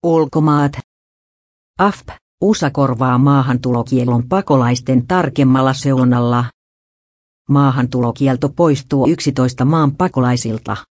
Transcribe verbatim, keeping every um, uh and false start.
Ulkomaat. A F P, U S A korvaa maahantulokiellon pakolaisten tarkemmalla seulonnalla. Maahantulokielto poistuu yksitoista maan pakolaisilta.